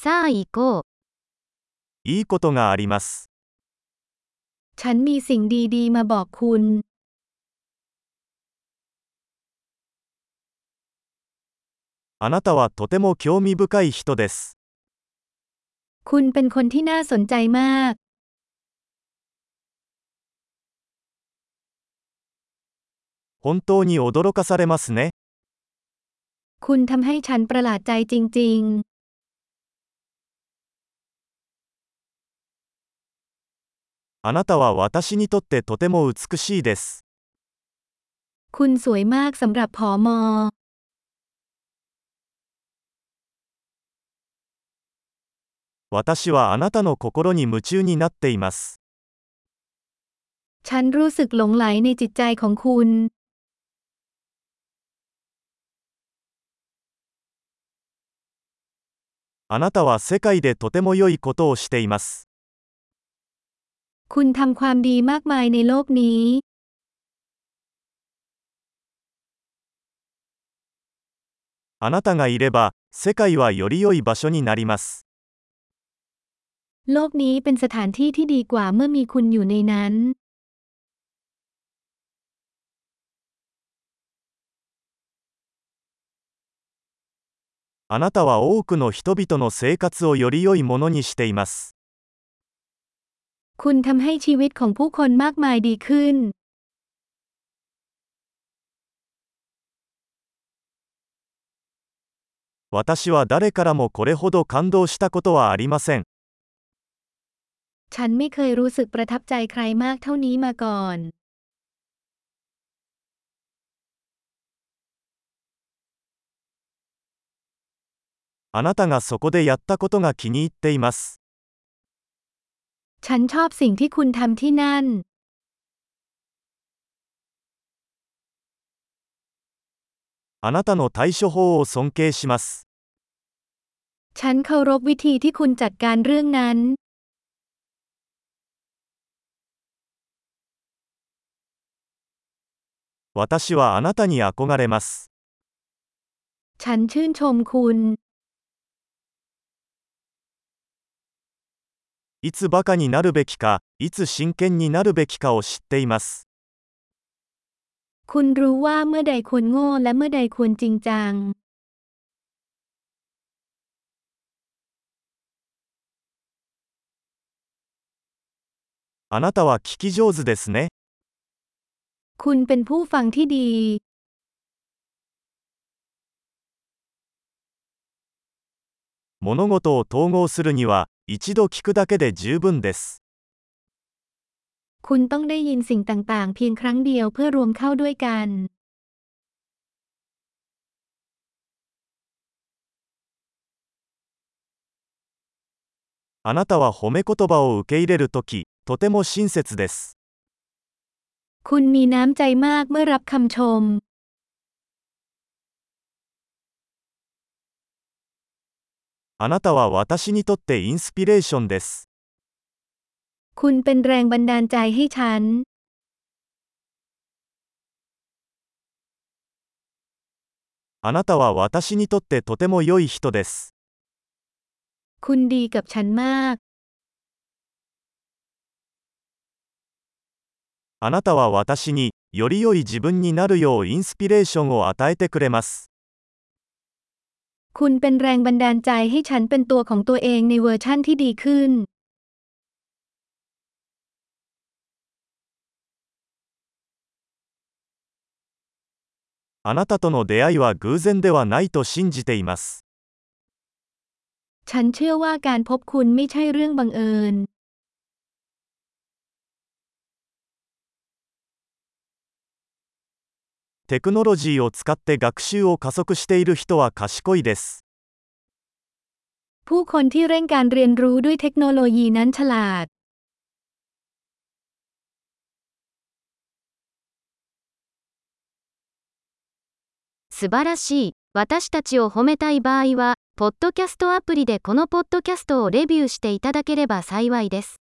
さあ行こう。 いいことがあります。 ฉันมีสิ่งดีๆมาบอกคุณあなたはとても興味深い人です。 คุณเป็นคนที่น่าสนใจมาก本当に驚かされますね。 คุณทำให้ฉันประหลาดใจจริงあなたは私にとってとても美しいです。 ๆ คุณสวยมากสำหรับผอม. 私はあなたの心に夢中になっています。 ฉันรู้สึกหลงไหลในจิตใจของคุณあなたは世界でとても良いことをしています。 คุณทำความดีมากมายในโลกนี้あなたがいれば、世界はより良い場所になります。 โลกนี้เป็นสถานที่ที่ดีกว่าเมื่อมีคุณอยู่ในนั้นあなたは多くの人々の生活をより良いものにしています。 คุณทำให้ชีวิตของผู้คนมากมายดีขึ้น私は誰からもこれほど感動したことはありません。 ฉันไม่เคยรู้สึกประทับใจใครมากเท่านี้มาก่อนあなたがそこでやったことが気に入っています。 ฉันชอบสิ่งที่คุณทำที่นั่นあなたの対処法を尊敬します。 ฉันเคารพวิธีที่คุณจัดการเรื่องนั้น私はあなたに憧れます。 ฉันชื่นชมคุณいつバカになるべきか、いつ真剣になるべきかを知っています。 คุณรู้ว่าเมื่อใดควรโง่และเมื่อใดควรจริงจังあなたは聞き上手ですね。 คุณเป็นผู้ฟังที่ดี物事を統合するには、一度聞くだけで十分です。 คุณต้องได้ยินสิ่งต่างๆเพียงครั้งเดียวเพื่อรวมเข้าด้วยกันあなたは褒め言葉を受け入れるとき、とても親切です。 คุณมีน้ำใจมากเมื่อรับคำชมあなたは私にとってインスピレーションです。 คุณเป็นแรงบันดาลใจให้ฉันあなたは私にとってとても良い人です。 คุณดีกับฉันมากあなたは私に、より良い自分になるようインスピレーションを与えてくれます。 คุณเป็นแรงบันดาลใจให้ฉันเป็นตัวของตัวเองในเวอร์ชั่นที่ดีขึ้นあなたとの出会いは偶然ではないと信じています。 ฉันเชื่อว่าการพบคุณไม่ใช่เรื่องบังเอิญテクノロジーを使って学習を加速している人は賢いです。 ผู้คนที่เร่งการเรียนรู้ด้วยเทคโนโลยีนั้นฉลาด素晴らしい。私たちを褒めたい場合は、ポッドキャストアプリでこのポッドキャストをレビューしていただければ幸いです。